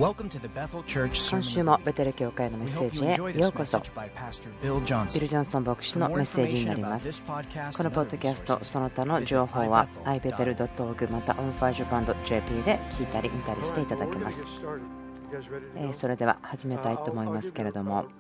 今週もベテル教会のメッセージへようこそ。ビル・ジョンソン牧師のメッセージになります。このポッドキャストその他の情報は ibetel.org また onfirejapan.jp で聞いたり見たりしていただけます。それでは始めたいと思いますけれども、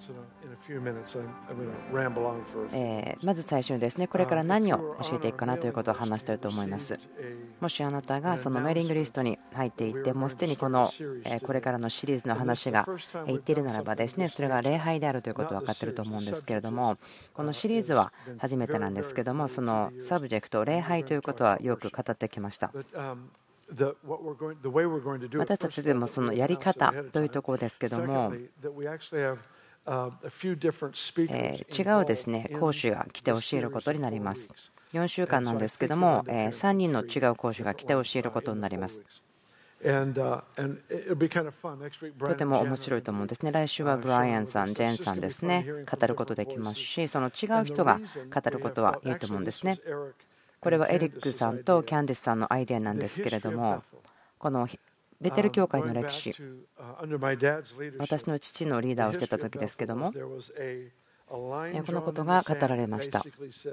まず最初にですね、これから何を教えていくかなということを話したいと思います。もしあなたがそのメーリングリストに入っていて、もうすでにこれからのシリーズの話が言っているならばですね、それが礼拝であるということは分かっていると思うんですけれども、このシリーズは初めてなんですけども、そのサブジェクト礼拝ということはよく語ってきました。私たちでもそのやり方というところですけども、違うですね講師が来て教えることになります。4週間なんですけども、3人の違う講師が来て教えることになります。とても面白いと思うんですね。来週はブライアンさん、ジェーンさんですね、語ることできますし、その違う人が語ることはいいと思うんですね。これはエリックさんとキャンディスさんのアイデアなんですけれども、このベテル教会の歴史、私の父のリーダーをしていた時ですけども、このことが語られました。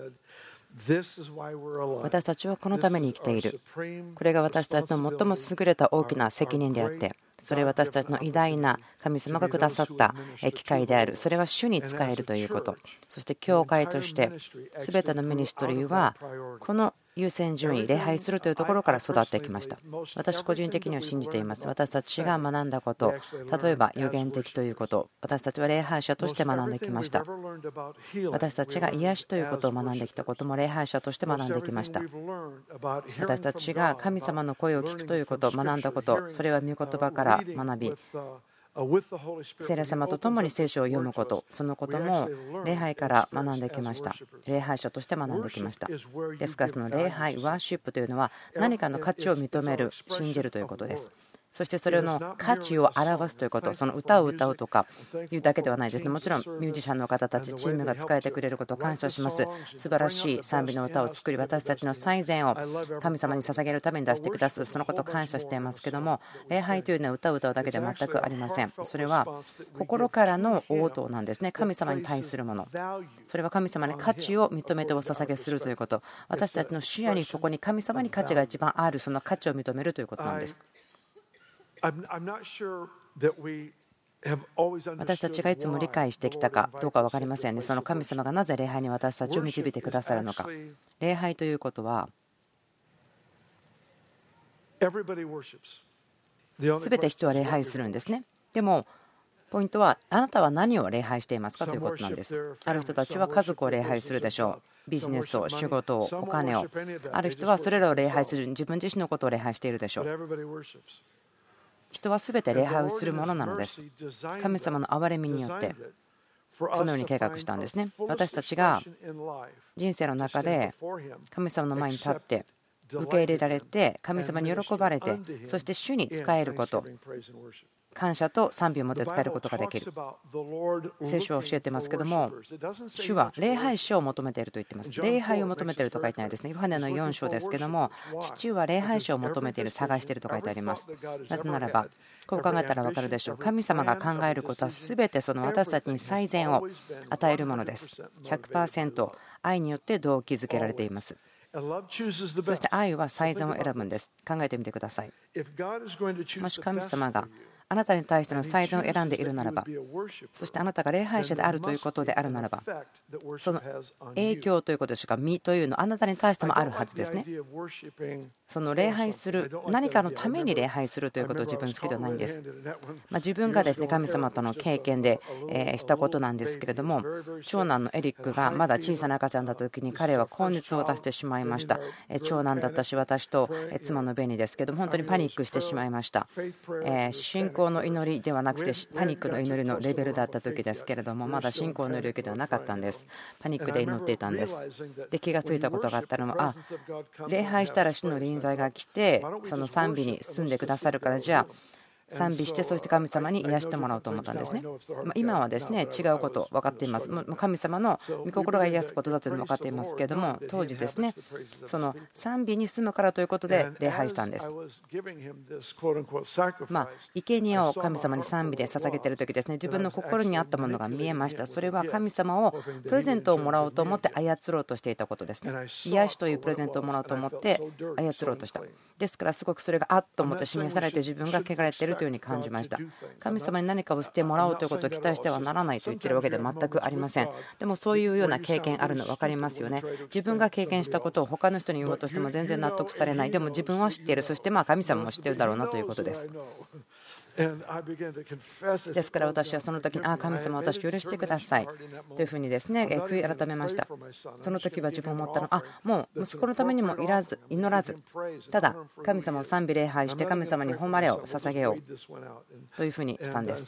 私たちはこのために生きている。これが私たちの最も優れた大きな責任であって、それは私たちの偉大な神様がくださった機会である。それは主に仕えるということ。そして教会として全てのミニストリーはこの優先順位、礼拝するというところから育ってきました。私個人的には信じています。私たちが学んだこと、例えば予言的ということ、私たちは礼拝者として学んできました。私たちが癒しということを学んできたことも礼拝者として学んできました。私たちが神様の声を聞くということ、学んだこと、それは御言葉から学び、聖霊様と共に聖書を読むこと、そのことも礼拝から学んできました。礼拝者として学んできました。ですからその礼拝、ワーシップというのは何かの価値を認める、信じるということです。そしてそれの価値を表すということ、その歌を歌うとかいうだけではないですね。もちろんミュージシャンの方たち、チームが使えてくれることを感謝します。素晴らしい賛美の歌を作り、私たちの最善を神様に捧げるために出してくださる、そのことを感謝していますけども、礼拝というのは歌を歌うだけで全くありません。それは心からの応答なんですね。神様に対するもの、それは神様に価値を認めてお捧げするということ、私たちの視野にそこに神様に価値が一番ある、その価値を認めるということなんです。私たちがいつも理解してきたかどうか分かりませんね。その神様がなぜ礼拝に私たちを導いてくださるのか。礼拝ということは全て人は礼拝するんですね。でもポイントは、あなたは何を礼拝していますかということなんです。ある人たちは家族を礼拝するでしょう。ビジネスを、仕事を、お金を。ある人はそれらを礼拝する、自分自身のことを礼拝しているでしょう。人は全て礼拝をするものなのです。神様の憐れみによってそのように計画したんですね。私たちが人生の中で神様の前に立って受け入れられて、神様に喜ばれて、そして主に仕えること、感謝と賛美を持って仕えることができる。聖書は教えてますけども、主は礼拝者を求めていると言っています。礼拝を求めていると書いてないですね。ヨハネの4章ですけども、父は礼拝者を求めている、探していると書いてあります。なぜならば、こう考えたら分かるでしょう。神様が考えることは全てその私たちに最善を与えるものです。100% 愛によって動機づけられています。そして愛は最善を選ぶんです。考えてみてください。もし神様があなたに対しての最善を選んでいるならば、そしてあなたが礼拝者であるということであるならば、その影響ということでしょうか、実というのはあなたに対してもあるはずですね。その礼拝する、何かのために礼拝するということを自分好きではないんです。自分がですね、神様との経験でしたことなんですけれども、長男のエリックがまだ小さな赤ちゃんだった時に彼は高熱を出してしまいました。長男だったし、私と妻のベニですけども、本当にパニックしてしまいました。信仰の祈りではなくてパニックの祈りのレベルだった時ですけれども、まだ信仰の領域ではなかったんです。パニックで祈っていたんです。で、気がついたことがあったのは、礼拝したら主の臨在が来てその賛美に進んでくださるから、じゃあ賛美して、そして神様に癒してもらおうと思ったんですね。今はですね、違うこと分かっています。神様の御心が癒すことだというのも分かっていますけれども、当時ですね、その賛美に住むからということで礼拝したんです。生贄を神様に賛美で捧げている時ですね、自分の心にあったものが見えました。それは神様をプレゼントをもらおうと思って操ろうとしていたことですね。癒しというプレゼントをもらおうと思って操ろうとした。ですからすごくそれがあっと思って示されて、自分が汚れているというふうに感じました。神様に何かをしてもらおうということを期待してはならないと言っているわけでは全くありません。でもそういうような経験あるの分かりますよね。自分が経験したことを他の人に言おうとしても全然納得されない。でも自分は知っている。そして神様も知っているだろうなということです。ですから私はその時に、神様、私許してくださいというふうにですね、悔い改めました。その時は自分思ったのは、もう息子のためにも祈らず、ただ神様を賛美礼拝して神様に誉れを捧げようというふうにしたんです。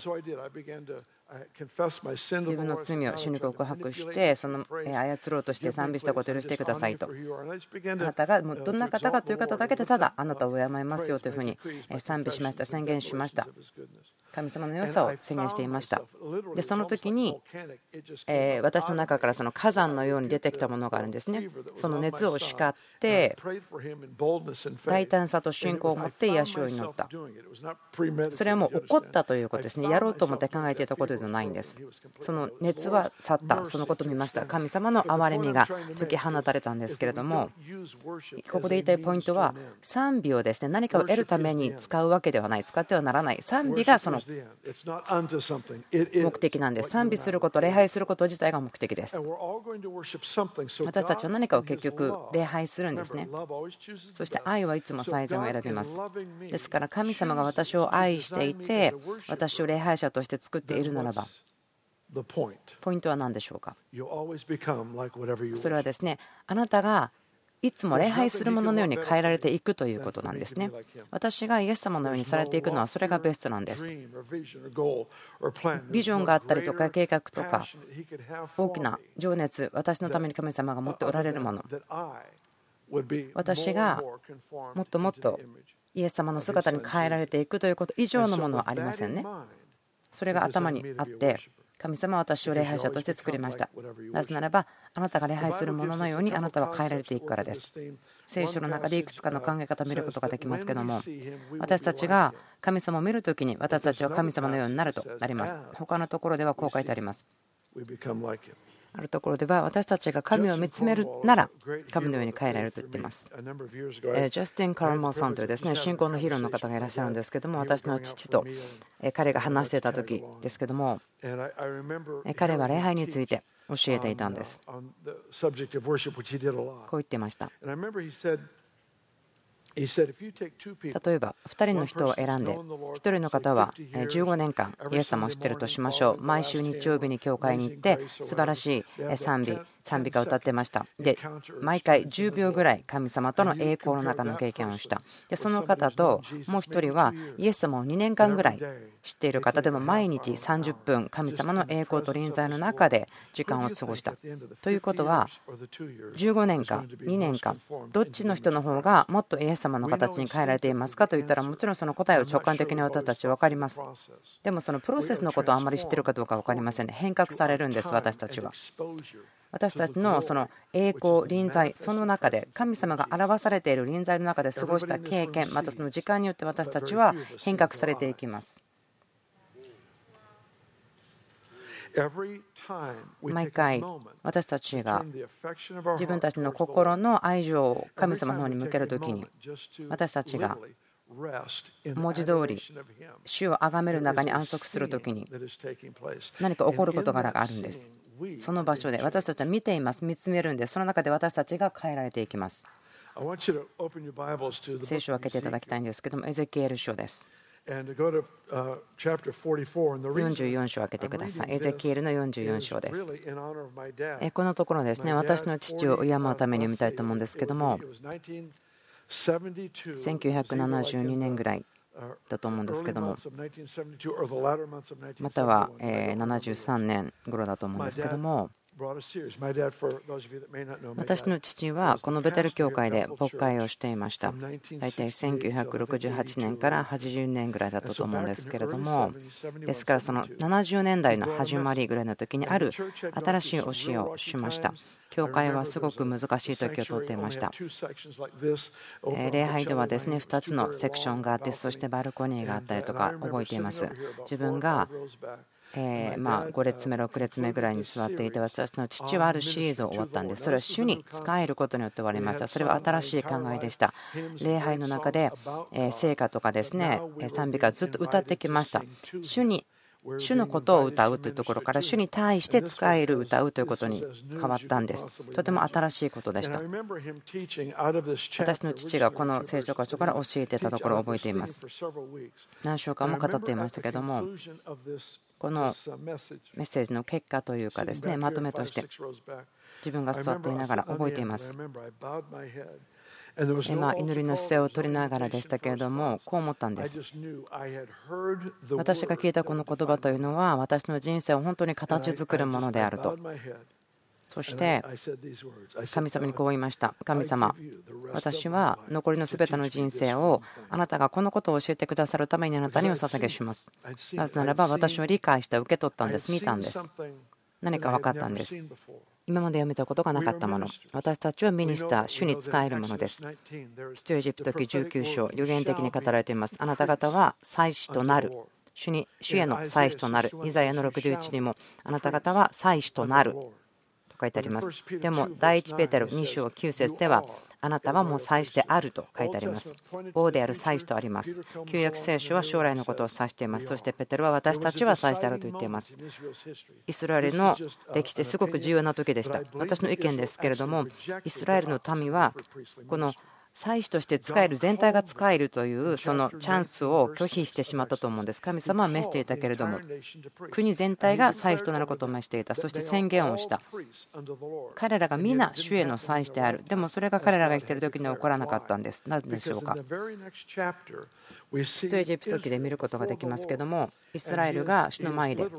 自分の罪を主に告白して、その操ろうとして賛美したことを許してくださいと。あなたがどんな方かという方だけでただあなたを敬いますよというふうに賛美しました。宣言しました。神様の良さを宣言していました。でその時に私の中からその火山のように出てきたものがあるんですね。その熱を叱って大胆さと信仰を持って癒しを祈った。それはもう起こったということですね。やろうと思って考えていたことではないんです。その熱は去った。そのことを見ました。神様の憐れみが解き放たれたんですけれども、ここで言いたいポイントは、賛美をですね、何かを得るために使うわけではない。使ってはならない。賛美がその目的なんです。賛美すること、礼拝すること自体が目的です。私たちは何かを結局礼拝するんですね。そして愛はいつも最善を選びます。ですから神様が私を愛していて、私を礼拝者として作っているならば、ポイントは何でしょうか。それはですね、あなたがいつも礼拝するもののように変えられていくということなんですね。私がイエス様のようにされていくのはそれがベストなんです。ビジョンがあったりとか計画とか大きな情熱、私のために神様が持っておられるもの、私がもっともっとイエス様の姿に変えられていくということ以上のものはありませんね。それが頭にあって、神様は私を礼拝者として作りました。なぜならば、あなたが礼拝するもののようにあなたは変えられていくからです。聖書の中でいくつかの考え方を見ることができますけども、私たちが神様を見るときに私たちは神様のようになるとなります。他のところではこう書いてあります。あるところでは、私たちが神を見つめるなら神のように変えられると言っています。ジャスティン・カラモーさんというですね、信仰のヒーローの方がいらっしゃるんですけども、私の父と彼が話していた時ですけども、彼は礼拝について教えていたんです。こう言っていました。例えば2人の人を選んで、1人の方は15年間イエス様を知っているとしましょう。毎週日曜日に教会に行って素晴らしい賛美歌を歌ってました。で毎回10秒ぐらい神様との栄光の中の経験をした。でその方ともう1人はイエス様を2年間ぐらい知っている方でも、毎日30分神様の栄光と臨在の中で時間を過ごした。ということは15年間2年間どっちの人の方がもっとイエス様の形に変えられていますかと言ったら、もちろんその答えを直感的に私たちは分かります。でもそのプロセスのことをあまり知っているかどうか分かりませんね。変革されるんです。私たちは。私たちのその栄光、臨在、その中で神様が表されている臨在の中で過ごした経験、またその時間によって私たちは変革されていきます。毎回私たちが自分たちの心の愛情を神様の方に向けるときに、私たちが文字通り主を崇める中に安息するときに何か起こることがあるんです。その場所で私たちは見ています。見つめるんです。その中で私たちが変えられていきます。聖書を開けていただきたいんですけども、エゼキエル書です。44章を開けてください。エゼキエルの44章です。このところですね、私の父を敬うために読みたいと思うんですけども、1972年ぐらいだと思うんですけども、または73年頃だと思うんですけども、 私の父はこのベテル教会で牧会をしていました。大体1968年から80年ぐらいだったと思うんですけれども、ですからその70年代の始まりぐらいの時にある新しい教えをしました。教会はすごく難しい時を通っていました。礼拝ではですね、2つのセクションがあって、そしてバルコニーがあったりとか覚えています。自分が5列目6列目ぐらいに座っていて、私の父はあるシリーズを終わったんです。それは主に仕えることによって終わりました。それは新しい考えでした。礼拝の中で聖歌とかですね、賛美歌ずっと歌ってきました。主のことを歌うというところから主に対して仕える歌うということに変わったんです。とても新しいことでした。私の父がこの聖書箇所から教えていたところを覚えています。何週間も語っていましたけども、このメッセージの結果というかですね、まとめとして自分が座っていながら覚えています。祈りの姿勢を取りながらでしたけれども、こう思ったんです。私が聞いたこの言葉というのは、私の人生を本当に形作るものであると。そして神様にこう言いました。神様、私は残りのすべての人生をあなたがこのことを教えてくださるためにあなたにお捧げします。なぜならば私は理解して受け取ったんです。見たんです。何か分かったんです。今まで読めたことがなかったもの。私たちはミニスター、主に仕えるものです。出エジプト記19章、予言的に語られています。あなた方は祭司となる。主への祭司となる。イザヤの61にも、あなた方は祭司となる。と書いてあります。でも、第一ペテロ2章9節では、あなたはもう祭司であると書いてあります。王である祭司とあります。旧約聖書は将来のことを指しています。そしてペテロは私たちは祭司であると言っています。イスラエルの歴史ですごく重要な時でした。私の意見ですけれども、イスラエルの民はこの祭司として仕える、全体が仕えるというそのチャンスを拒否してしまったと思うんです。神様は召していたけれども、国全体が祭司となることを召していた。そして宣言をした。彼らが皆主への祭司である。でもそれが彼らが生きている時には起こらなかったんです。なぜでしょうか。出エジプト記で見ることができますけども、イスラエルが主の前で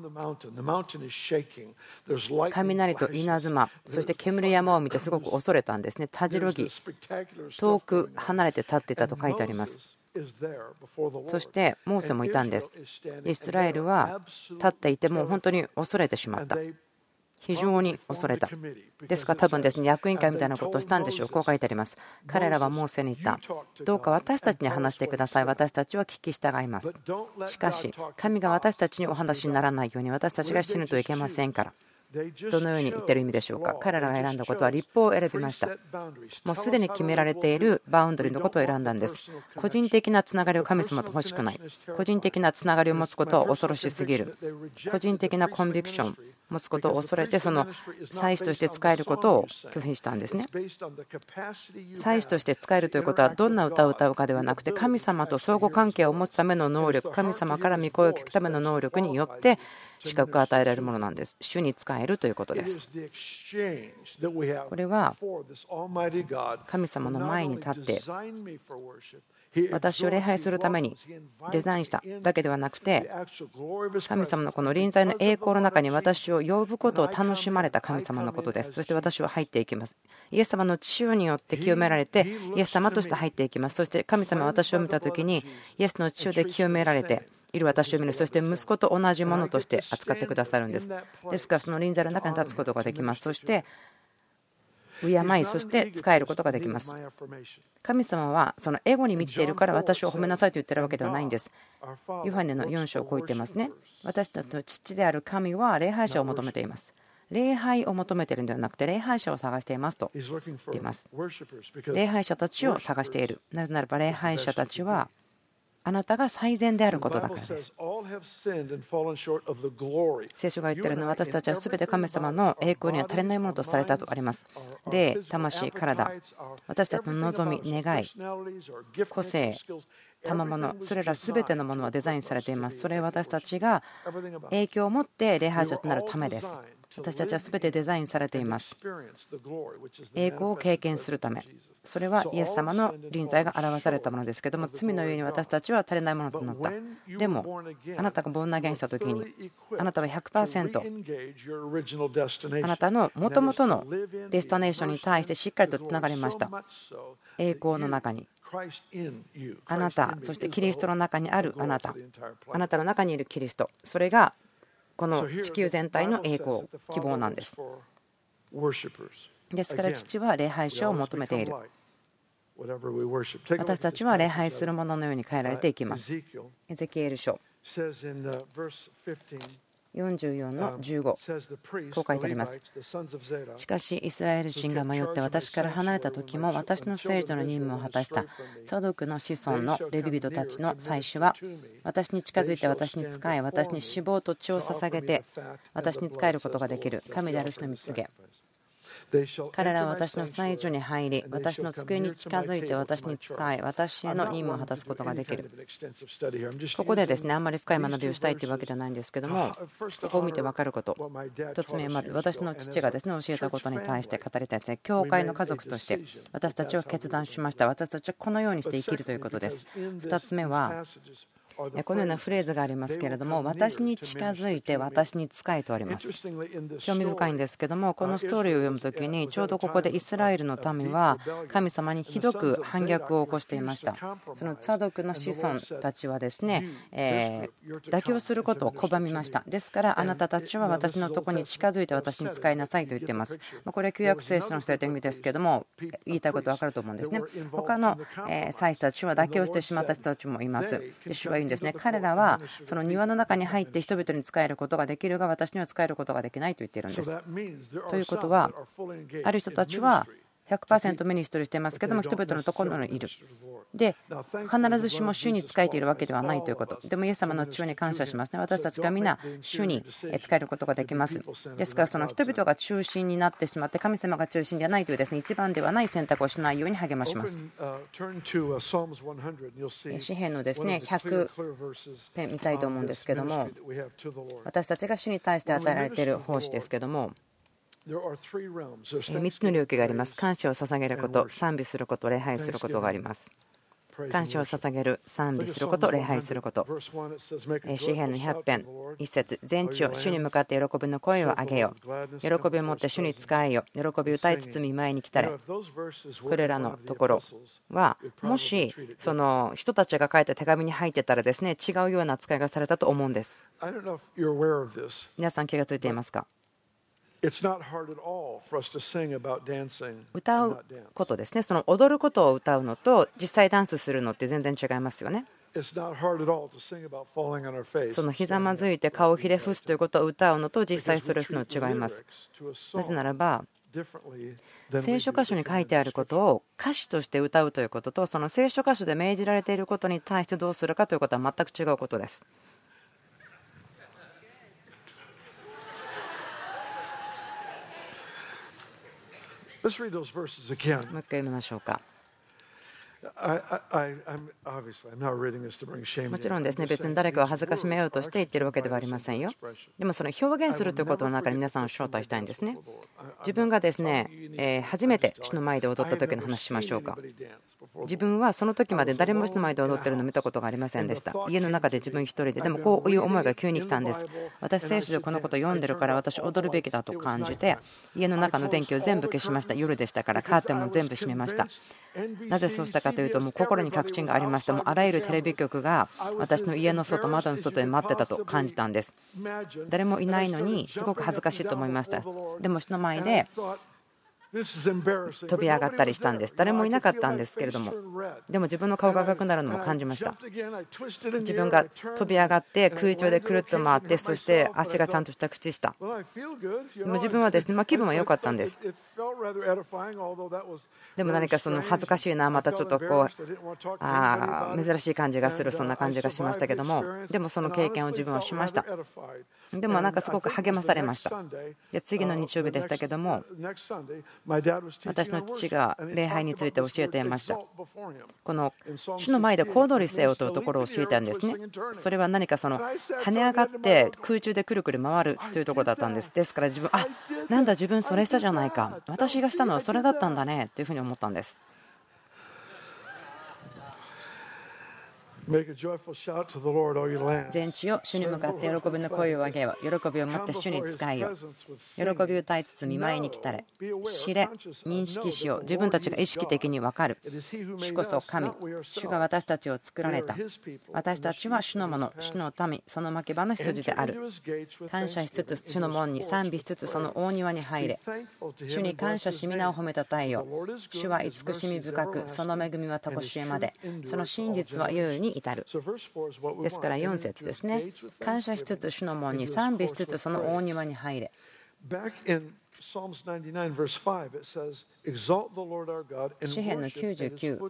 雷と稲妻、そして煙山を見てすごく恐れたんですね。たじろぎ、遠く離れて立っていたと書いてあります。そしてモーセもいたんです。イスラエルは立っていても本当に恐れてしまった。非常に恐れた。ですから多分ですね、役員会みたいなことをしたんでしょう。こう書いてあります。彼らはモーセに言った。どうか私たちに話してください。私たちは聞き従います。しかし、神が私たちにお話にならないように私たちが死ぬといけませんから。どのように言ってる意味でしょうか。彼らが選んだことは立法を選びました。もうすでに決められているバウンドリーのことを選んだんです。個人的なつながりを神様と欲しくない。個人的なつながりを持つことは恐ろしすぎる。個人的なコンビクションを持つことを恐れて、その祭司として仕えることを拒否したんですね。祭司として仕えるということはどんな歌を歌うかではなくて、神様と相互関係を持つための能力、神様から御声を聞くための能力によって資格が与えられるものなんです。主に仕えるということです。これは神様の前に立って私を礼拝するためにデザインしただけではなくて、神様のこの臨在の栄光の中に私を呼ぶことを楽しまれた神様のことです。そして私は入っていきます。イエス様の血によって清められてイエス様として入っていきます。そして神様は私を見たときにイエスの血で清められている私を見る。そして息子と同じものとして扱ってくださるんです。ですからその臨在の中に立つことができます。そして敬い、そして仕えることができます。神様はそのエゴに満ちているから私を褒めなさいと言ってるわけではないんです。ヨハネの4章をこう言ってますね。私たちの父である神は礼拝者を求めています。礼拝を求めているのではなくて礼拝者を探していますと言っています。礼拝者たちを探している。なぜならば礼拝者たちはあなたが最善であることだからです。聖書が言っているのは私たちはすべて神様の栄光には足りないものとされたとあります。霊、魂、体、私たちの望み、願い、個性、賜物、それらすべてのものはデザインされています。それは私たちが影響を持って礼拝者となるためです。私たちはすべてデザインされています。栄光を経験するため、 それはイエス様の臨在が表されたものですけども、罪のゆえに私たちは足りないものとなった。でもあなたがボーンアゲインした時に、あなたは 100% あなたの元々のデスティネーションに対してしっかりとつながりました。栄光の中にあなた、そしてキリストの中にあるあなた、あなたの中にいるキリスト、それがこの地球全体の栄光、希望なんです。ですから父は礼拝者を求めている。私たちは礼拝するもののように変えられていきます。エゼキエル書44の15、こう書いてあります。しかしイスラエル人が迷って私から離れた時も、私の聖女の任務を果たしたツァドクの子孫のレビ人たちの祭司は、私に近づいて私に仕え、私に脂肪と血を捧げて私に仕えることができる神である主の御告げ。彼らは私の祭所に入り、私の机に近づいて私に仕え、私への任務を果たすことができる。ここでですね、あんまり深い学びをしたいというわけじゃないんですけども、ここを見て分かること、1つ目、私の父がですね教えたことに対して語りたいですね。教会の家族として私たちは決断しました。私たちはこのようにして生きるということです。2つ目は、このようなフレーズがありますけれども、私に近づいて私に仕えとあります。興味深いんですけども、このストーリーを読むときにちょうどここでイスラエルの民は神様にひどく反逆を起こしていました。そのツァドクの子孫たちはですね、妥協することを拒みました。ですからあなたたちは私のところに近づいて私に仕えなさいと言っています。これは旧約聖書のセッティングですけども、言いたいこと分かると思うんですね。他の祭司たちは妥協してしまった人たちもいます。主は言うんですね、彼らはその庭の中に入って人々に仕えることができるが、私には仕えることができないと言っているんです。ということは、ある人たちは 100% ミニストリーしていますけども、人々のところにいる。で、必ずしも主に仕えているわけではないということ。でもイエス様の血に感謝しますね。私たちが皆主に仕えることができます。ですからその人々が中心になってしまって、神様が中心ではないというですね、一番ではない選択をしないように励まします。詩篇のですね100編見たいと思うんですけども、私たちが主に対して与えられている奉仕ですけども、3つの領域があります。感謝を捧げること、賛美すること、礼拝することがあります。感謝を捧げる、賛美すること、礼拝すること。詩篇の100編1節、全地を主に向かって喜びの声を上げよ。喜びを持って主に仕えよ。喜び歌い包み前に来たれ。これらのところは、もしその人たちが書いた手紙に入ってたらですね、違うような扱いがされたと思うんです。皆さん気がついていますか？歌うことですね。その踊ることを歌うのと実際ダンスするのって全然違いますよね。そのひざまずいて顔をひれ伏すということを歌うのと実際それをするの違います。なぜならば聖書箇所に書いてあることを歌詞として歌うということと、その聖書箇所で命じられていることに対してどうするかということは全く違うことです。もう一回読みましょうか。もちろんですね、別に誰かを恥ずかしめようとして言ってるわけではありませんよ。でもその表現するということの中に皆さんを招待したいんですね。自分がですね、初めて主の前で踊った時の話しましょうか。自分はその時まで誰も主の前で踊ってるのを見たことがありませんでした。家の中で自分一人で、でもこういう思いが急に来たんです。私聖書でこのことを読んでるから私踊るべきだと感じて、家の中の電気を全部消しました。夜でしたからカーテンも全部閉めました。なぜそうしたかというと、もう心に確信がありました。もうあらゆるテレビ局が私の家の外、窓の外で待ってたと感じたんです。誰もいないのにすごく恥ずかしいと思いました。でも主の前で飛び上がったりしたんです。誰もいなかったんですけれども、でも自分の顔が赤くなるのも感じました。自分が飛び上がって空中でくるっと回って、そして足がちゃんと着地した。でも自分はですね、気分は良かったんです。でも何かその恥ずかしいな、またちょっとこう珍しい感じがする、そんな感じがしましたけども、でもその経験を自分はしました。でもなんかすごく励まされました。で次の日曜日でしたけども、私の父が礼拝について教えていました。この主の前で小躍りせよというところを教えたんですね。それは何かその跳ね上がって空中でくるくる回るというところだったんです。ですから自分、なんだ自分それしたじゃないか、私がしたのはそれだったんだねというふうに思ったんです。 全地を主に向かって喜びの声を上げよう。喜びを持って主に仕えよう。喜び歌いつつ見舞いに来たれ。知れ、認識しよう。自分たちが意識的に分かる。主こそ神。主が私たちを作られた。私たちは主のもの、主の民、その牧場の羊である。感謝しつつ主の門に賛美しつつその大庭に入れ。主に感謝し皆を褒めたたえよう。主は慈しみ深く、その恵みは常しえまで。その真実は猶予に至る。ですから4節ですね。感謝しつつ主の門に賛美しつつその大庭に入れ。詩編の99。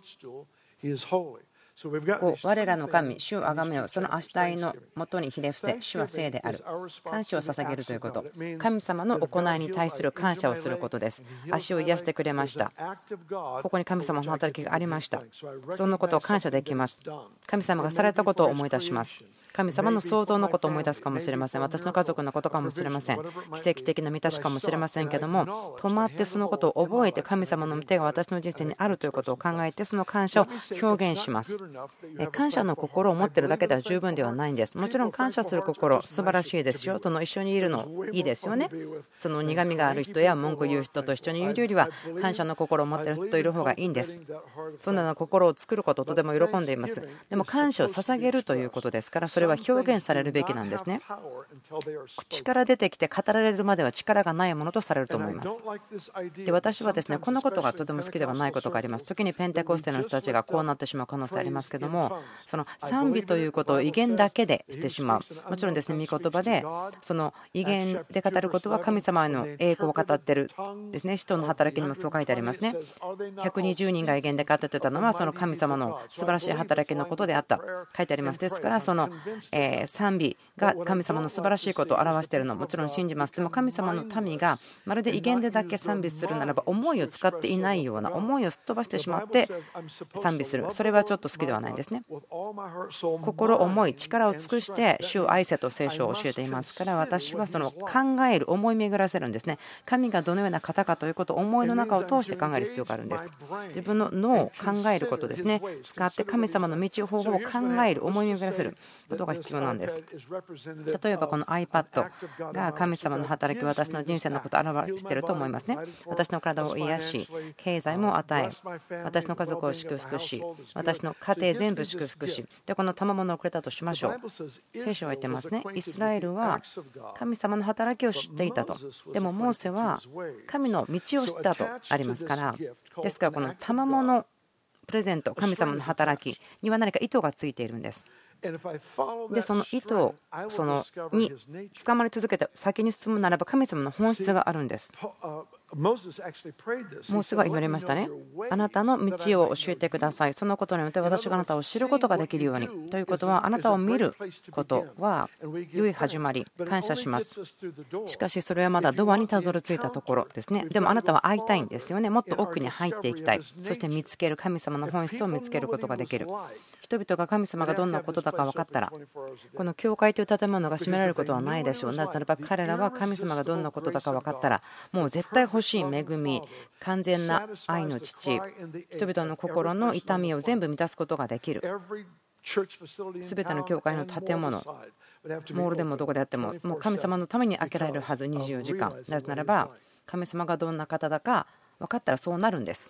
我らの神、主をあがめよう。その足体のもとにひれ伏せ、主は聖である。感謝を捧げるということ。神様の行いに対する感謝をすることです。足を癒してくれました。ここに神様の働きがありました。そのことを感謝できます。神様がされたことを思い出します。神様の創造のことを思い出すかもしれません。私の家族のことかもしれません。奇跡的な満たしかもしれませんけども、止まってそのことを覚えて、神様の手が私の人生にあるということを考えて、その感謝を表現します。感謝の心を持っているだけでは十分ではないんです。もちろん感謝する心素晴らしいですよ。その一緒にいるのいいですよね。その苦みがある人や文句言う人と一緒にいるよりは感謝の心を持っている人といる方がいいんです。そんな心を作ることをとても喜んでいます。でも感謝を捧げるということですから、それは表現されるべきなんですね。口から出てきて語られるまでは力がないものとされると思います。で、私はですね、このことがとても好きではないことがあります。時にペンテコステの人たちがこうなってしまう可能性ありますけども、その賛美ということを威厳だけでしてしまう。もちろんですね、御言葉でその威厳で語ることは神様への栄光を語っているですね。使徒の働きにもそう書いてありますね。120人が威厳で語ってたのはその神様の素晴らしい働きのことであった書いてあります。ですからその賛美が神様の素晴らしいことを表しているのももちろん信じます。でも神様の民がまるで威厳でだけ賛美するならば、思いを使っていないような、思いをすっ飛ばしてしまって賛美する、それはちょっと好きではないんですね。心、思い、力を尽くして主を愛せと聖書を教えていますから、私はその考える、思い巡らせるんですね。神がどのような方かということを思いの中を通して考える必要があるんです。自分の脳を考えることですね。使って神様の道方法を考える、思い巡らせることが必要なんです。例えばこの iPad が神様の働き、私の人生のことを表していると思いますね。私の体を癒し、経済も与え、私の家族を祝福し、私の家庭全部祝福し、でこの賜物をくれたとしましょう。聖書は言ってますね。イスラエルは神様の働きを知っていたと。でもモーセは神の道を知ったとありますから、ですからこの賜物プレゼント、神様の働きには何か意図がついているんです。でその意図に捕まり続けて先に進むならば、神様の本質があるんです。モーセは言われましたね。あなたの道を教えてください。そのことによって私があなたを知ることができるように。ということは、あなたを見ることは良い始まり、感謝します。しかしそれはまだドアにたどり着いたところですね。でもあなたは会いたいんですよね。もっと奥に入っていきたい。そして見つける、神様の本質を見つけることができる。人々が神様がどんなことだか分かったら、この教会という建物が閉められることはないでしょう。なぜならば彼らは神様がどんなことだか分かったら、もう絶対欲しい恵み、完全な愛の父、人々の心の痛みを全部満たすことができる。すべての教会の建物、モールでもどこであっても、もう神様のために開けられるはず、24時間。なぜならば神様がどんな方だか分かったらそうなるんです。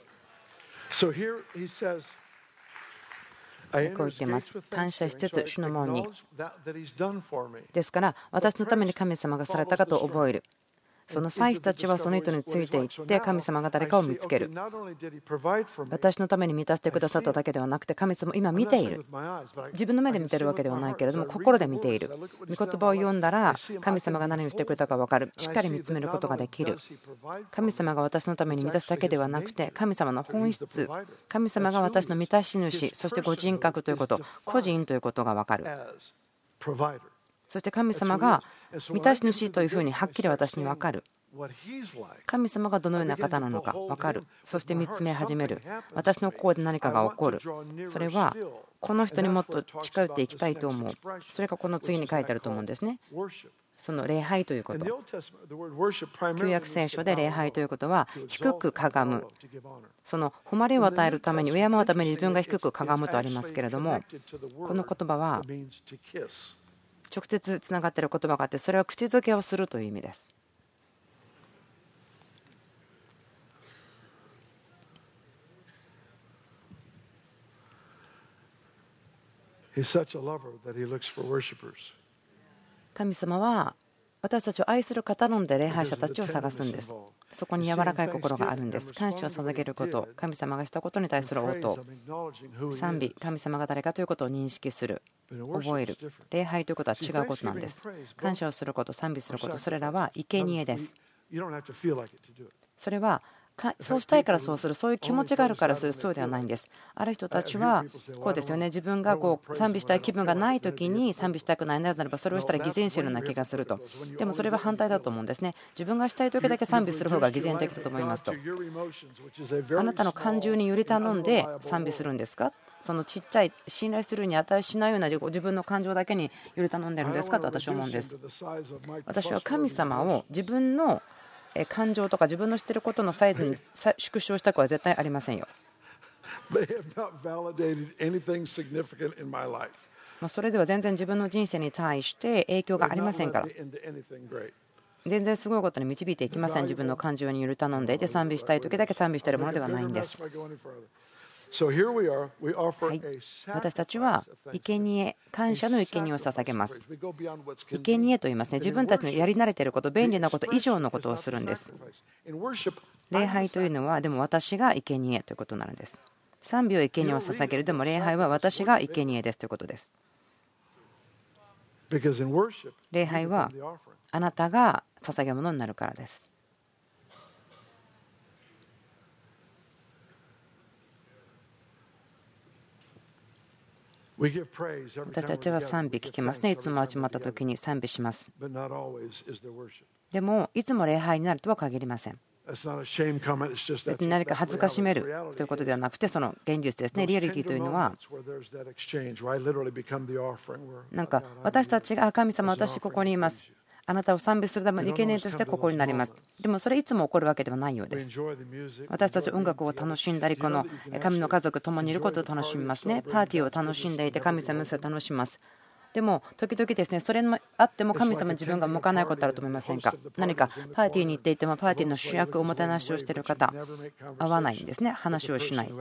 こう言っています。感謝しつつ主の門に。ですから私のために神様がされたかと覚える。その祭司たちはその人についていって神様が誰かを見つける。私のために満たしてくださっただけではなくて、神様今見ている。自分の目で見ているわけではないけれども心で見ている。御言葉を読んだら神様が何をしてくれたか分かる。しっかり見つめることができる。神様が私のために満たすだけではなくて、神様の本質、神様が私の満たし主、そしてご人格ということ、個人ということが分かる。そして神様が満たし主というふうにはっきり私に分かる。神様がどのような方なのか分かる。そして見つめ始める。私の心で何かが起こる。それはこの人にもっと近寄っていきたいと思う。それがこの次に書いてあると思うんですね。 その礼拝ということ、旧約聖書で礼拝ということは低くかがむ、その誉れを与えるために、敬うために自分が低くかがむとありますけれども、この言葉は直接つながっている言葉があって、それは口づけをするという意味です。神様は私たちを愛する方なので礼拝者たちを探すんです。そこに柔らかい心があるんです。感謝を捧げること、神様がしたことに対する応答、賛美、神様が誰かということを認識する、覚える。礼拝ということは違うことなんです。感謝をすること、賛美すること、それらは生贄です。それはそうしたいからそうする、そういう気持ちがあるからする、そうではないんです。ある人たちはこうですよね、自分が賛美したい気分がないときに賛美したくないならば、それをしたら偽善しているような気がすると。でもそれは反対だと思うんですね。自分がしたいときだけ賛美する方が偽善的だと思いますと。あなたの感情により頼んで賛美するんですか？そのちっちゃい信頼するに値しないような自分の感情だけにより頼んでるんですかと私は思うんです。私は神様を自分の感情とか自分の知っていることのサイズに縮小したくは絶対ありませんよ。それでは全然自分の人生に対して影響がありませんから、全然すごいことに導いていきません。自分の感情により頼んでいて賛美したい時だけ賛美しているものではないんです。はい、私たちは生贄、感謝の生贄を捧げます。生贄と言いますね。自分たちのやり慣れていること、便利なこと以上のことをするんです。礼拝というのはでも私が生贄ということなんです。賛美を生贄を捧げる、でも礼拝は私が生贄ですということです。礼拝はあなたが捧げ物になるからです。私たちは賛美聞きますね。いつも集まった時に賛美します。でもいつも礼拝になるとは限りません。何か恥ずかしめるということではなくて、その現実ですね。リアリティというのはなんか私たちが神様、私ここにいます、あなたを賛美するための生贄としてここになります。でもそれいつも起こるわけではないようです。私たち音楽を楽しんだり、この神の家族共にいることを楽しみますね。パーティーを楽しんでいて神様を楽しみます。でも時々ですね、それもあっても神様自分が向かないことあると思いませんか？何かパーティーに行っていてもパーティーの主役おもてなしをしている方、合わないんですね。話をしない、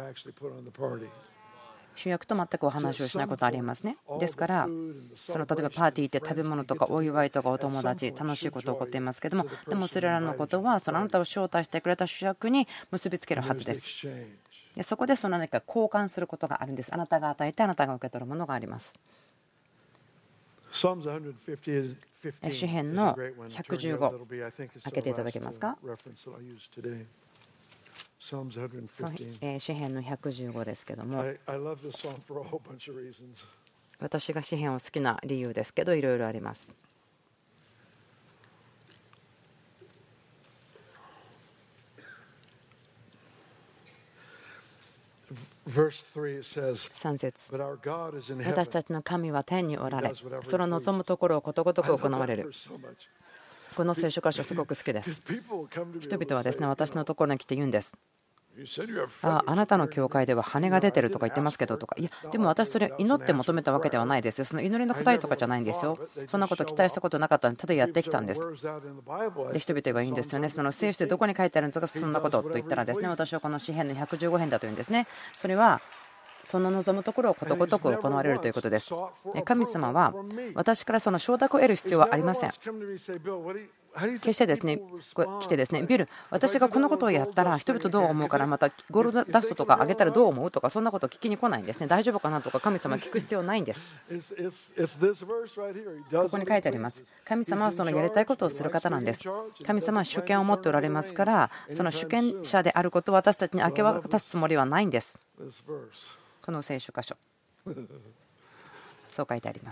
主役と全くお話をしないことありますね。ですからその例えばパーティーって食べ物とかお祝いとかお友達、楽しいこと起こっていますけども、でもそれらのことはそのあなたを招待してくれた主役に結びつけるはずです。でそこでその何か交換することがあるんです。あなたが与えてあなたが受け取るものがあります。詩編の115開けていただけますか？詩編の115ですけども、私が詩編を好きな理由ですけどいろいろあります。3節、私たちの神は天におられ、その望むところをことごとく行われる。この聖書箇所すごく好きです。人々はですね、私のところに来て言うんです。あなたの教会では羽が出てるとか言ってますけどとか、いやでも私それ祈って求めたわけではないですよ。その祈りの答えとかじゃないんですよ。そんなこと期待したことなかったので、ただやってきたんです。で人々は言うんですよね。その聖書でどこに書いてあるのかそんなことと言ったらですね、私はこの詩編の115編だというんですね。それはその望むところをことごとく行われるということです。神様は私からその承諾を得る必要はありません。決してですね、来てですね、ビル、私がこのことをやったら人々どう思うから、またゴールドダストとかあげたらどう思うとか、そんなことを聞きに来ないんですね。大丈夫かなとか神様聞く必要ないんです。ここに書いてあります。神様はそのやりたいことをする方なんです。神様は主権を持っておられますから、その主権者であることを私たちに明け渡すつもりはないんです。この聖書箇所、そう書いてあります。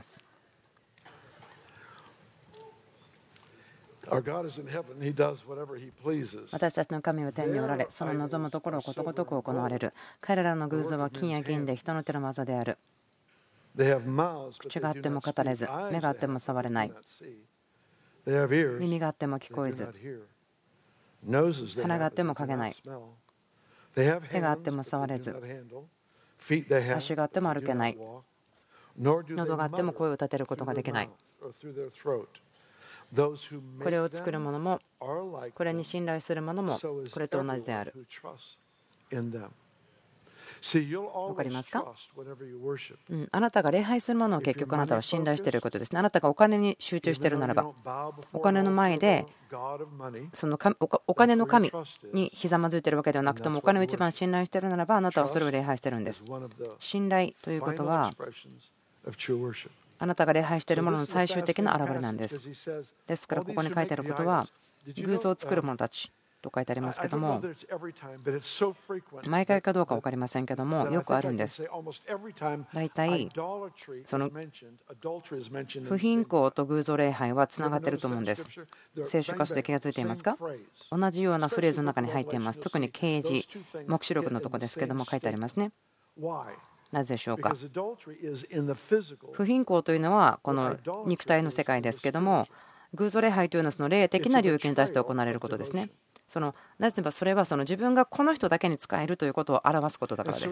私たちの神は天におられ、その望むところをことごとく行われる。彼らの偶像は金や銀で人の手の技である。口があっても語れず、目があっても触れない。 耳があっても聞こえず、鼻があっても嗅げない、手があっても触れず、足があっても歩けない、喉があっても声を立てることができない。これを作る者も、これに信頼する者も、これと同じである。わかりますか？あなたが礼拝するものを結局あなたは信頼していることですね。あなたがお金に集中しているならば、お金の前でそのお金の神にひざまずいているわけではなくても、お金を一番信頼しているならば、あなたはそれを礼拝しているんです。信頼ということは、あなたが礼拝しているものの最終的な表れなんです。ですからここに書いてあることは、偶像を作る者たちと書いてありますけども、毎回かどうか分かりませんけども、よくあるんです。大体その不貧困と偶像礼拝はつながっていると思うんです。聖書箇所で気がついていますか？同じようなフレーズの中に入っています。特に啓示、黙示録のところですけども書いてありますね。なぜでしょうか？不貧困というのはこの肉体の世界ですけども、偶像礼拝というのはその霊的な領域に対して行われることですね。なぜならばそれは自分がこの人だけに仕えるということを表すことだからです。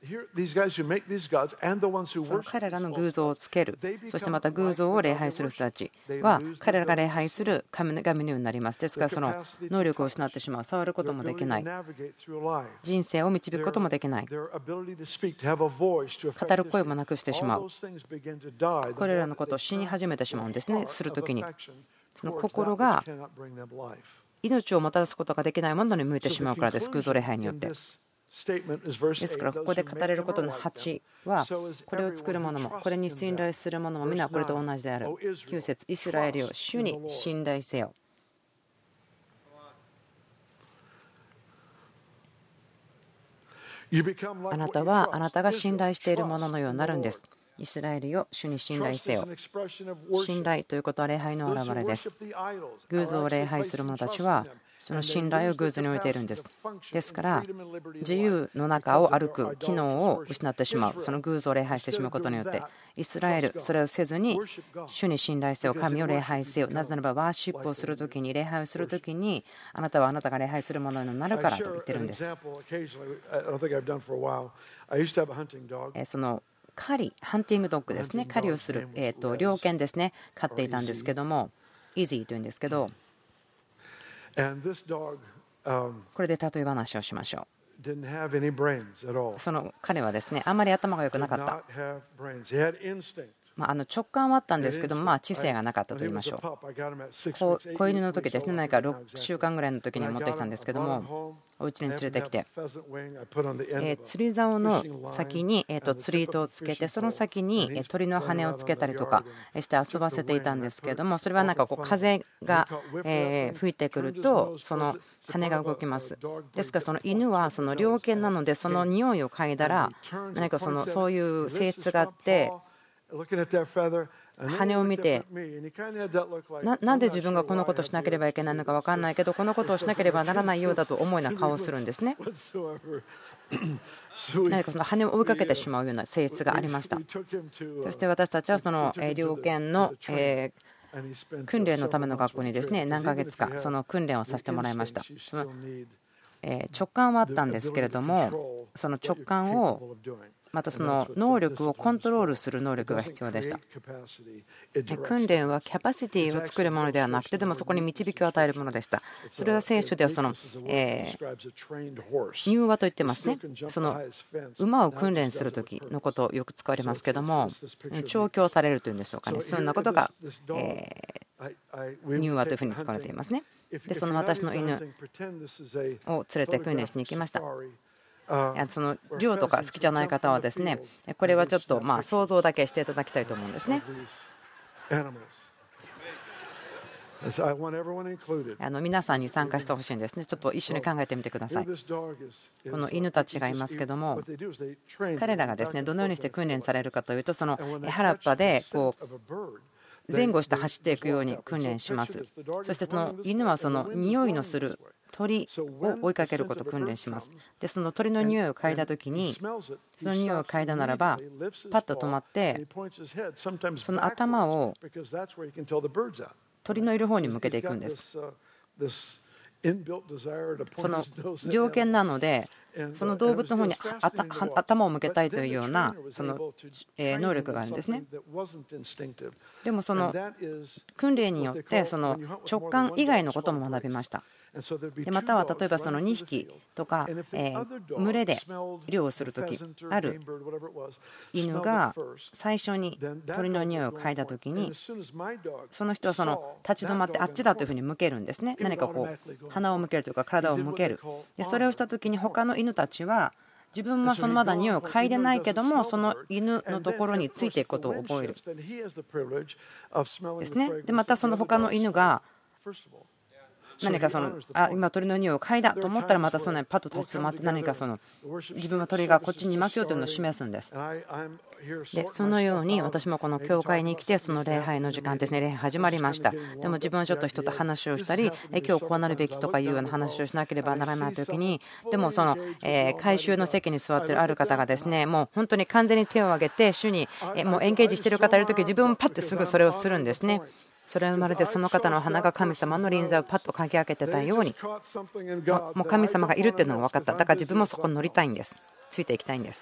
彼らの偶像をつける、そしてまた偶像を礼拝する人たちは彼らが礼拝する神のようになります。ですからその能力を失ってしまう、触ることもできない、人生を導くこともできない、語る声もなくしてしまう、これらのことを死に始めてしまうんですね。するときにその心が命をもたらすことができないものに向いてしまうからです。偶像礼拝によって。ですからここで語れることの8は、これを作る者もこれに信頼する者も皆これと同じである。9節、イスラエルよ、主に信頼せよ。あなたはあなたが信頼しているもののようになるんです。イスラエルよ、主に信頼せよ。信頼ということは礼拝の表れです。偶像を礼拝する者たちはその信頼を偶像に置いているんです。ですから自由の中を歩く機能を失ってしまう。その偶像を礼拝してしまうことによって、イスラエル、それをせずに主に信頼せよ、神を礼拝せよ。なぜならばワーシップをするときに、礼拝をするときに、あなたはあなたが礼拝するものになるからと言ってるんです。その狩り、ハンティングドッグですね、狩りをする、猟犬ですね、飼っていたんですけども、イージーというんですけど、これで例え話をしましょう。その彼はですね、あんまり頭が良くなかった。直感はあったんですけども、知性がなかったと言いましょう。子犬の時ですね、何か6週間ぐらいの時に持ってきたんですけども、お家に連れてきて、釣り竿の先に釣り糸をつけて、その先に鳥の羽をつけたりとかして遊ばせていたんですけども、それはなんか風が吹いてくるとその羽が動きます。ですからその犬はその猟犬なので、その匂いを嗅いだら何かそういう性質があって、羽を見て、なんで自分がこのことをしなければいけないのか分かんないけど、このことをしなければならないようだと思うような顔をするんですね。何かその羽を追いかけてしまうような性質がありました。そして私たちはその猟犬の訓練のための学校にですね、何ヶ月かその訓練をさせてもらいました。その直感はあったんですけれども、その直感をまたその能力をコントロールする能力が必要でした。訓練はキャパシティを作るものではなくて、でもそこに導きを与えるものでした。それは聖書では柔和と言ってますね。その馬を訓練する時のことをよく使われますけども、調教されるというんでしょうかね、そんなことが柔和というふうに使われていますね。でその私の犬を連れて訓練しに行きました。その猟とか好きじゃない方はですね、これはちょっと想像だけしていただきたいと思うんですね。皆さんに参加してほしいんですね。ちょっと一緒に考えてみてください。この犬たちがいますけども、彼らがですねどのようにして訓練されるかというと、その原っぱでこう前後して走っていくように訓練します。そしてその犬はその匂いのする鳥を追いかけることを訓練します。でその鳥の匂いを嗅いだときに、その匂いを嗅いだならばパッと止まって、その頭を鳥のいる方に向けていくんです。その条件なので、その動物の方に頭を向けたいというようなその能力があるんですね。でもその訓練によってその直感以外のことも学びました。でまたは例えばその2匹とか群れで猟をするとき、ある犬が最初に鳥の匂いを嗅いだときに、その人はその立ち止まってあっちだというふうに向けるんですね。何かこう鼻を向けるというか体を向ける。でそれをしたときに他の犬たちは自分はそのまだ匂いを嗅いでないけども、その犬のところについていくことを覚えるですね。でまたその他の犬が何かその今鳥の匂いを嗅いだと思ったら、またそのパッと立ち止まって何かその自分は鳥がこっちにいますよというのを示すんです。でそのように私もこの教会に来て、その礼拝の時間ですね、礼拝始まりました。でも自分はちょっと人と話をしたり、今日こうなるべきとかいうような話をしなければならない時に、でもその回収の席に座っているある方がですね、もう本当に完全に手を挙げて主にもうエンゲージしている方がいる時、自分もパッてすぐそれをするんですね。それはまるでその方の鼻が神様の臨在をパッと嗅ぎ分けてたように、もう神様がいるっていうのが分かった。だから自分もそこに乗りたいんです。ついていきたいんです。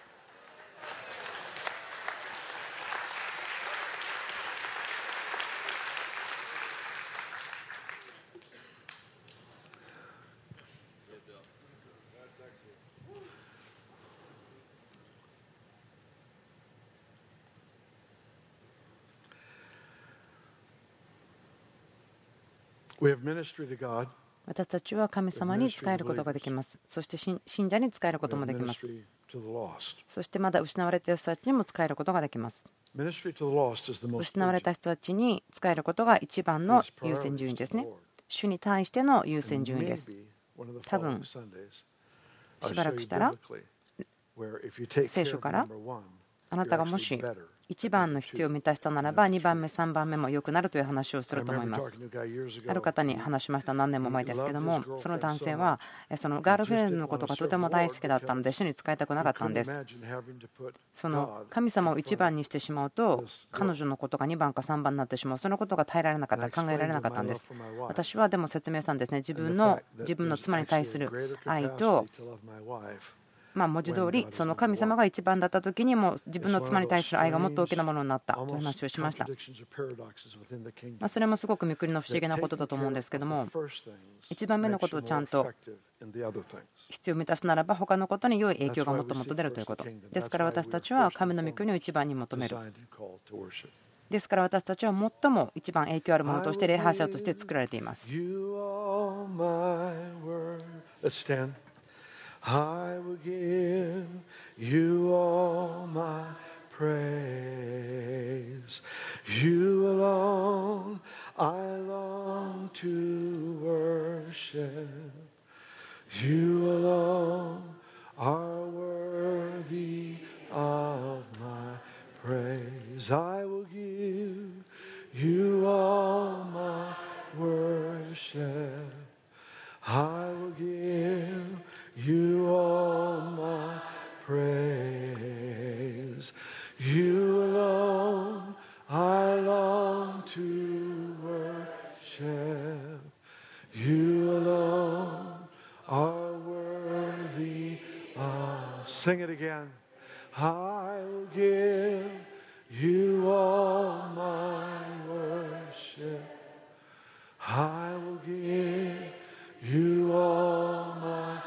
私たちは神様に仕えることができます。そして信者に仕えることもできます。そしてまだ失われている人たちにも仕えることができます。失われた人たちに仕えることが一番の優先順位ですね。主に対しての優先順位です。多分しばらくしたら聖書からあなたがもし1番の必要を満たしたならば2番目3番目も良くなるという話をすると思います。ある方に話しました。何年も前ですけども、その男性はそのガールフレンドのことがとても大好きだったので主に仕えたくなかったんです。その神様を1番にしてしまうと彼女のことが2番か3番になってしまう。そのことが耐えられなかった、考えられなかったんです。私はでも説明したんですね。自分の妻に対する愛と文字通りその神様が一番だった時にも自分の妻に対する愛がもっと大きなものになったという話をしました。それもすごく御国の不思議なことだと思うんですけども、一番目のことをちゃんと必要を満たすならば他のことに良い影響がもっともっと出るということですから、私たちは神の御国を一番に求める。ですから私たちは最も一番影響あるものとして礼拝者として作られています。I will give you all my praise. You alone I long to worship. You alone are worthy of my praise. I will give you all my worship. I will give you all my praise. You alone I long to worship. You alone are worthy of. Sing it again. I will give you all my worship. I will give you all my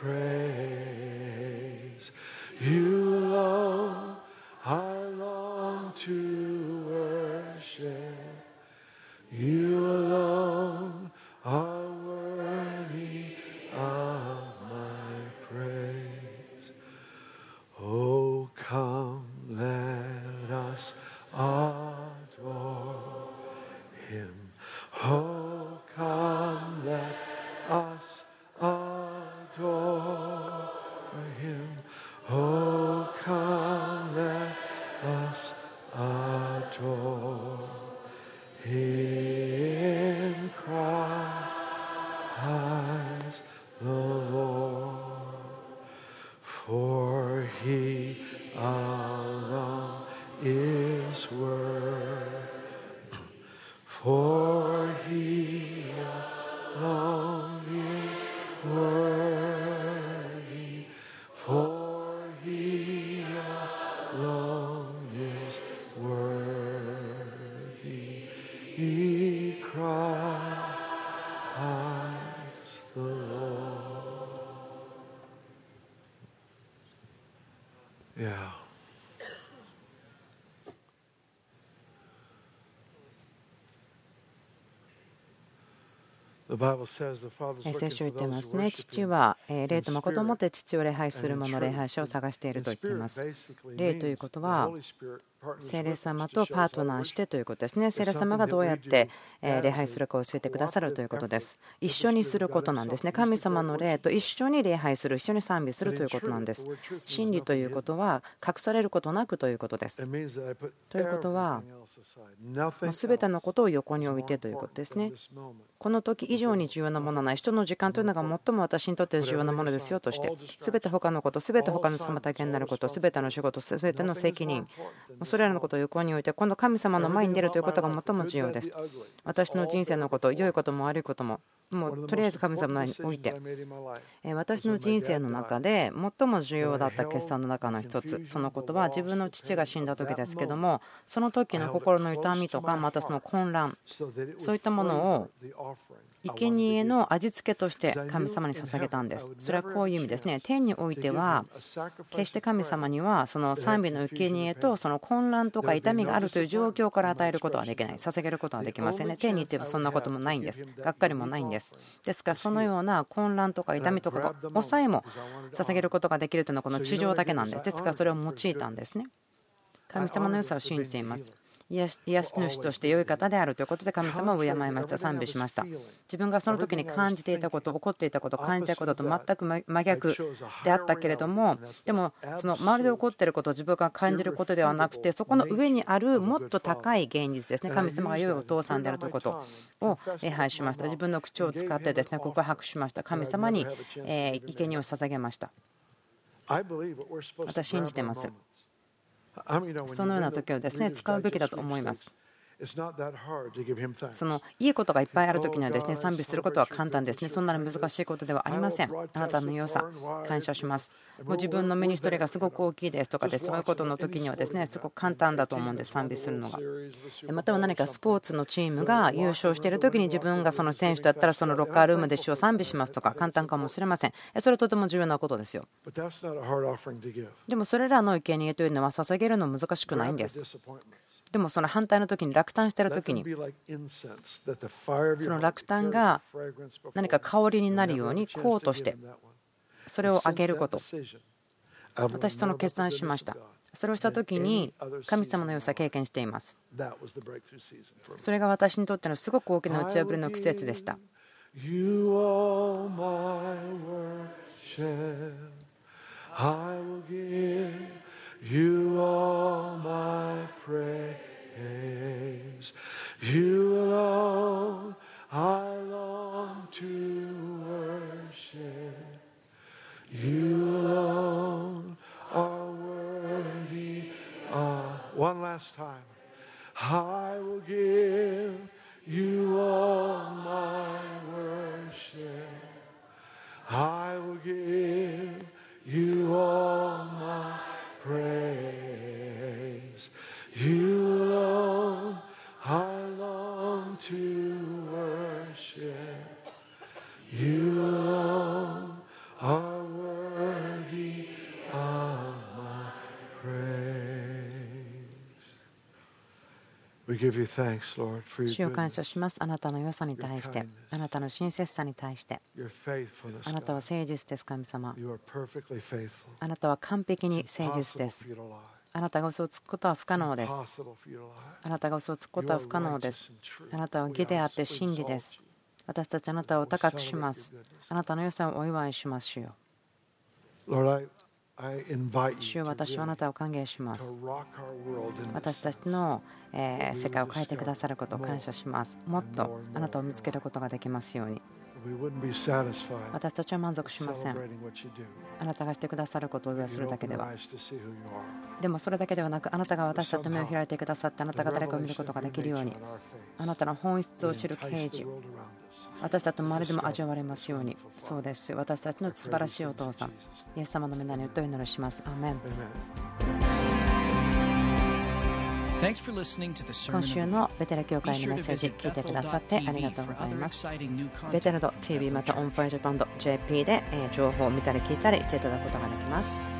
praise. You alone I long to worship. You alone are worthy of my praise. Oh, come, let us adore Him. Oh, come, let us adore Him. Oh, come, let us adore Him. Christ the Lord, for He alone is worthy. For He He alone is worthy, for He alone is worthy. He Christ the Lord. Yeah. 聖書言っていますね。父は霊と誠をもって父を礼拝する者、礼拝者を探していると言っています。霊ということは聖霊様とパートナーしてということですね。聖霊様がどうやって礼拝するかを教えてくださるということです。一緒にすることなんですね。神様の霊と一緒に礼拝する、一緒に賛美するということなんです。真理ということは隠されることなくということです。ということは全てのことを横に置いてということですね。この時以上に重要なものはない。人の時間というのが最も私にとって重要なものですよとして、全て他のこと、全て他の妨げになること、全ての仕事、全ての責任、それらのことを横に置いて、今度神様の前に出るということが最も重要です。私の人生のこと、良いことも悪いことも、もうとりあえず神様に置いて、私の人生の中で最も重要だった決断の中の一つ、そのことは自分の父が死んだ時ですけども、その時の心の痛みとか、またその混乱、そういったものを生贄の味付けとして神様に捧げたんです。それはこういう意味ですね。天においては決して神様にはその賛美の生贄とその混乱とか痛みがあるという状況から与えることはできない、捧げることはできませんね。天に行ってはそんなこともないんです。がっかりもないんです。ですからそのような混乱とか痛みとかが抑えも捧げることができるというのはこの地上だけなんです。ですからそれを用いたんですね。神様の良さを信じています。癒し主として良い方であるということで神様を敬いました、賛美しました。自分がその時に感じていたこと、起こっていたこと、感じたことと全く真逆であったけれども、でもその周りで起こっていることを自分が感じることではなくて、そこの上にあるもっと高い現実ですね。神様が良いお父さんであるということを礼拝しました。自分の口を使ってですね告白しました。神様に生贄を捧げました。私信じてます。そのような時をですね使うべきだと思います。そのいいことがいっぱいある時にはですね賛美することは簡単ですね。そんなに難しいことではありません。あなたの良さ感謝します。もう自分のミニストリーがすごく大きいですとかでそういうことの時にはですねすごく簡単だと思うんです、賛美するのが。または何かスポーツのチームが優勝している時に自分がその選手だったらそのロッカールームで主を賛美しますとか簡単かもしれません。それはとても重要なことですよ。でもそれらの生贄というのは捧げるの難しくないんです。でもその反対の時に落胆している時にその落胆が何か香りになるように香としてそれをあげること、私その決断しました。それをした時に神様の良さを経験しています。それが私にとってのすごく大きな打ち破りの季節でした。You are my praise. You alone I long to worship. You alone are worthy. One last time. I will give you all my worship. I will give you all my praise. You alone I long to worship. You alone are worthy of my praise. We give you thanks, Lord, for your 主を感謝します。あなたの良さに対して、あなたの親切さに対して、あなたは誠実です、神様。あなたは完璧に誠実です。あなたが嘘をつくことは不可能です。あなたが嘘をつくことは不可能です。あなたは義であって真理です。私たちあなたを高くします。あなたの良さをお祝いしますよ。主よ、私はあなたを歓迎します。私たちの世界を変えてくださることを感謝します。もっとあなたを見つけることができますように。 私たちは満足しません。あなたがしてくださることをするだけでは。でもそれだけではなく、あなたが私たちの目を開いてくださって、あなたが誰かを見ることができるように、あなたの本質を知る啓示、私たちの周りでも味わわれますように。そうです。私たちの素晴らしいお父さん、イエス様の皆によってお祈りします。アーメン。今週のベテル教会のメッセージ聞いてくださってありがとうございます。ベテルド TV またオンファイルバンド JP で情報を見たり聞いたりしていただくことができます。